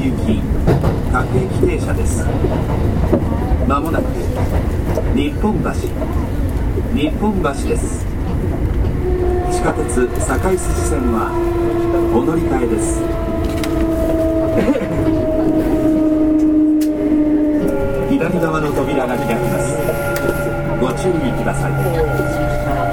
行き各駅停車です。まもなく日本橋です。地下鉄堺筋線はお乗り換えです。左側の扉が開きます。ご注意ください。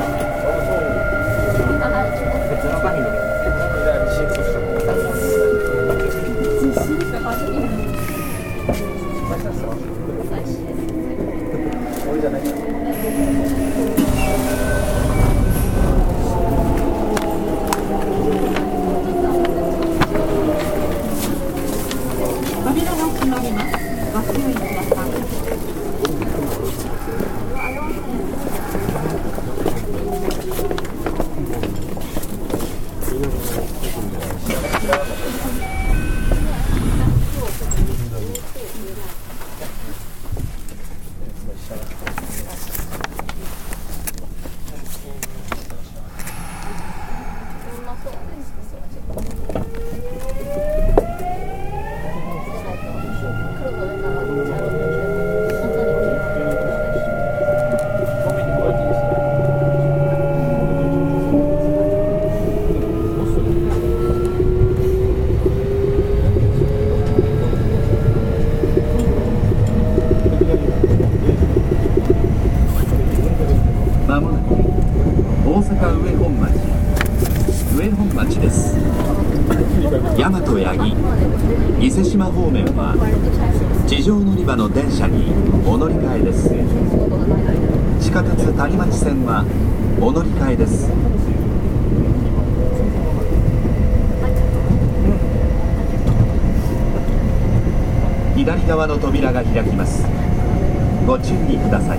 大和八木伊勢志摩方面は地上乗り場の電車にお乗り換えです。地下鉄谷町線はお乗り換えです。左側の扉が開きます。ご注意ください。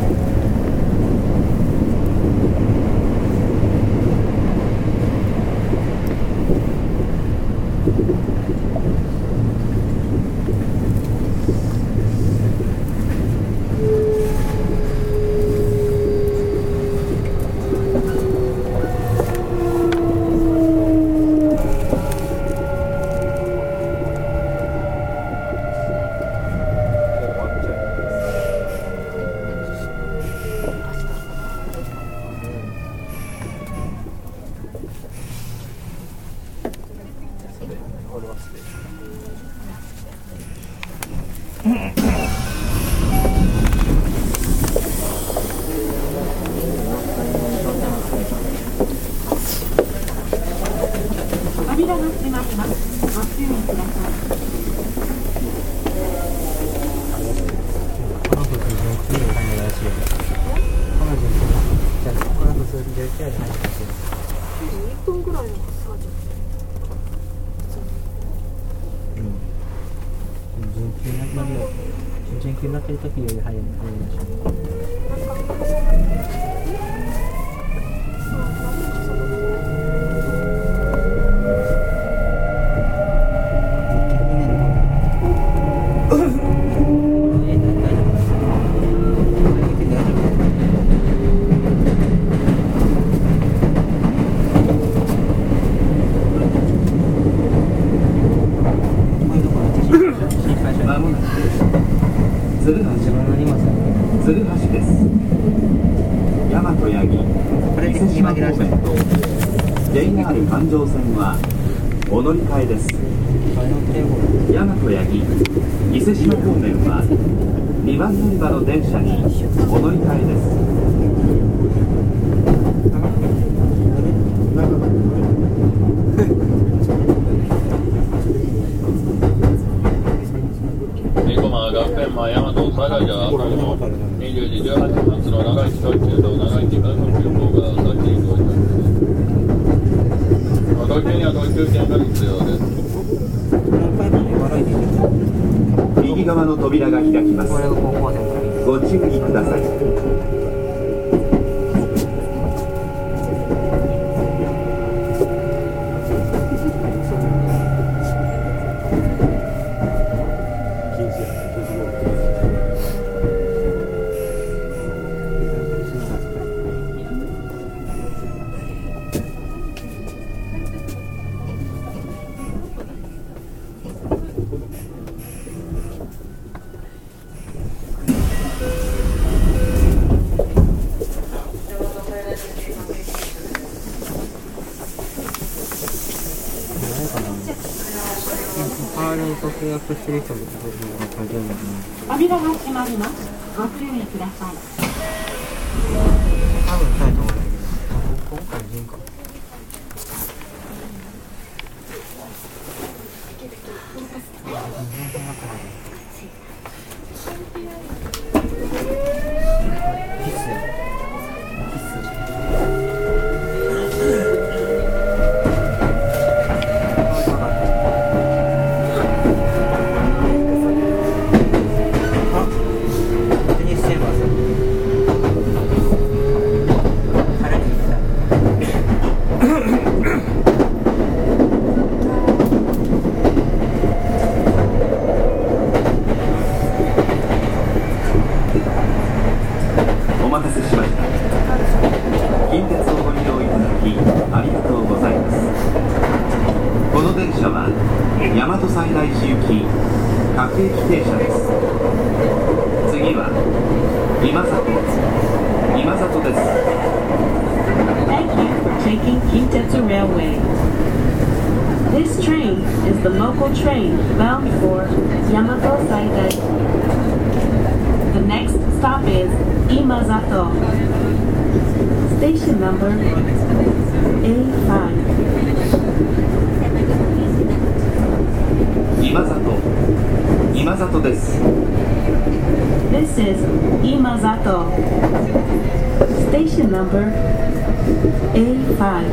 扉が閉まります。ご注意ください。この時のクリームがいらっしゃる。この時にじゃあこの後数字で手を入れて1分ぐらいの差じゃ準急になってるよ。準急になってる時より早いらしい。鶴橋です。大和八木伊勢志摩方面と JR 環状線はお乗り換えです。大和八木伊勢志摩方面は2番乗り場の電車にお乗り換えです。 学園大和堺が20時18分発の長市特急と長市観測急行が先に到着です。特急には特急券が必要です。 右側の扉が開きます。ご注意ください。 間に契約してる人も書いてるんだけど、 扉が閉まります。ご注意ください。 多分したいと思うんだけど、今回人か。 お待たせしました。近鉄をご利用いただきありがとうございます。この電車は大和西大寺行き各駅停車です。次は今里です。 Thank you for taking Kintetsu Railway. This train is the local train bound for Yamato Saidai. The next stop is Imazato. Station number A5. 今里です。 This is Imazato. Station number A5.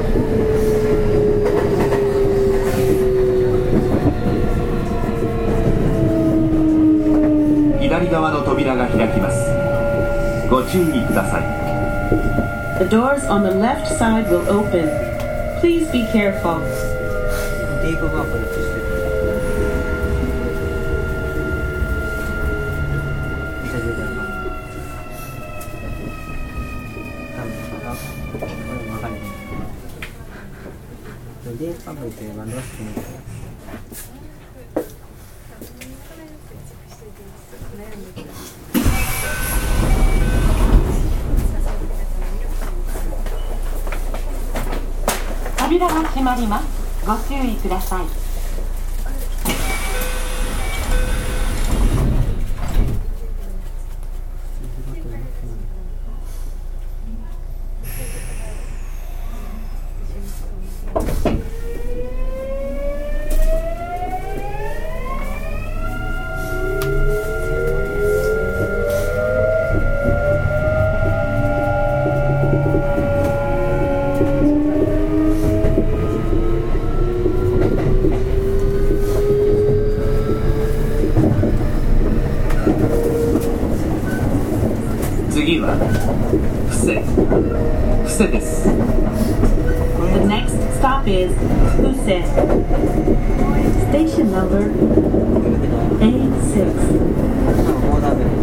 左側の扉が開きます。ご注意ください。 The doors on the left side will open. Please be careful. ディープワークでしてる。ディープワークってバンドが好きなんだよ。 扉が閉まります。ご注意ください。 次は布施です。 The next stop is Fuse. Station number A6. もうダメ。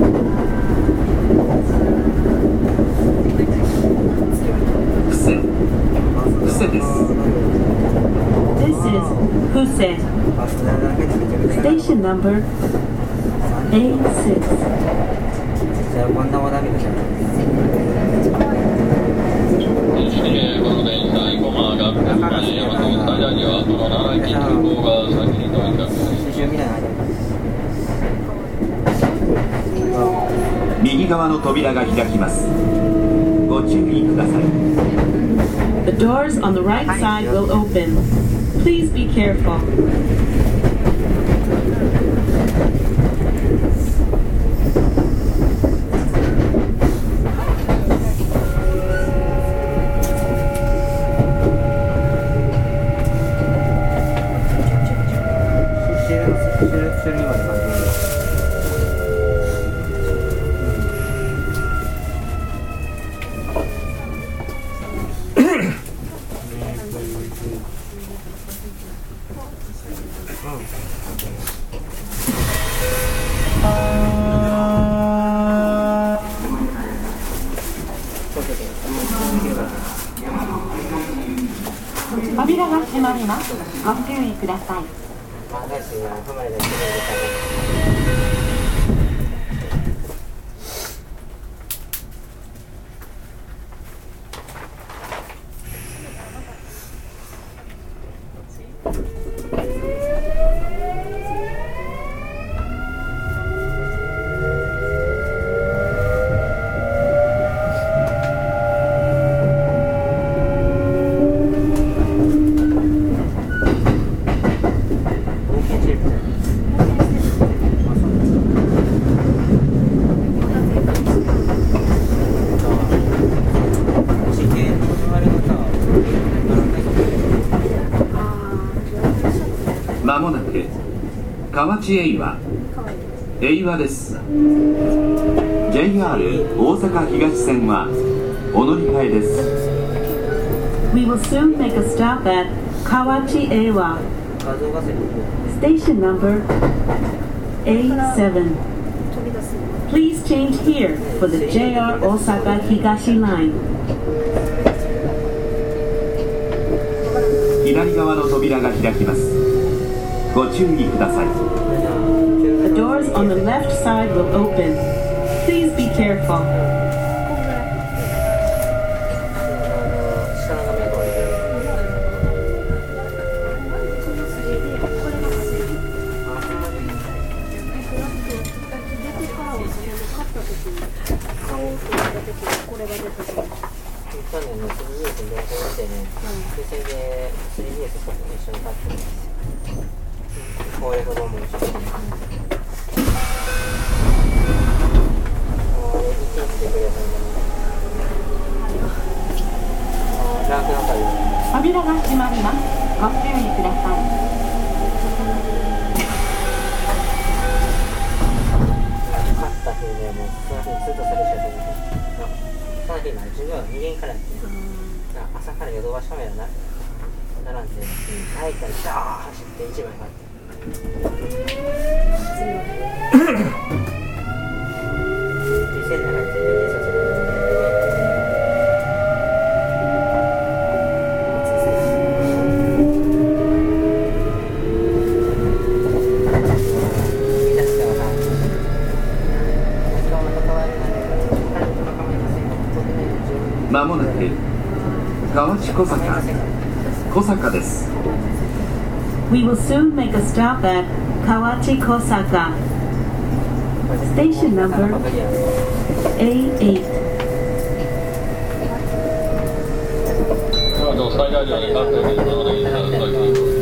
布施です。 This is Fuse. ス Station number A6. じゃあこんなもダメでしょ。 この電車生駒学園まで大和西大寺はその奈良駅空港が先に到着です。 右側の扉が開きます。ご注意ください。 The doors on the right side will open. Please be careful. 扉が閉まります。ご注意ください。 まもなく河内英和です。 JR 大阪東線はお乗り換えです。 We will soon make a stop at Kawachi Eiwa. Station number A7. Please change here for the JR Osaka Higashi Line. 左側の扉が開きます。ご注意ください。 The doors on the left side will open. Please be careful. 去年の 3DS に同封してね、でそれで 3DS と一緒に買って攻略本も一緒に1日でくれたのにランクの旅扉が閉まります。ご注意ください。 勝った日でもうその日にずっとそれしかできない。その日の授業は2限からやってる。朝からヨドバシカメラ並んで、帰ったらシャー走って1枚買って。店の中で全然警察がまもなく河内小坂です。 We will soon make a stop at Kawachi Kosaka. Station number A8. 最大量で関西で今までに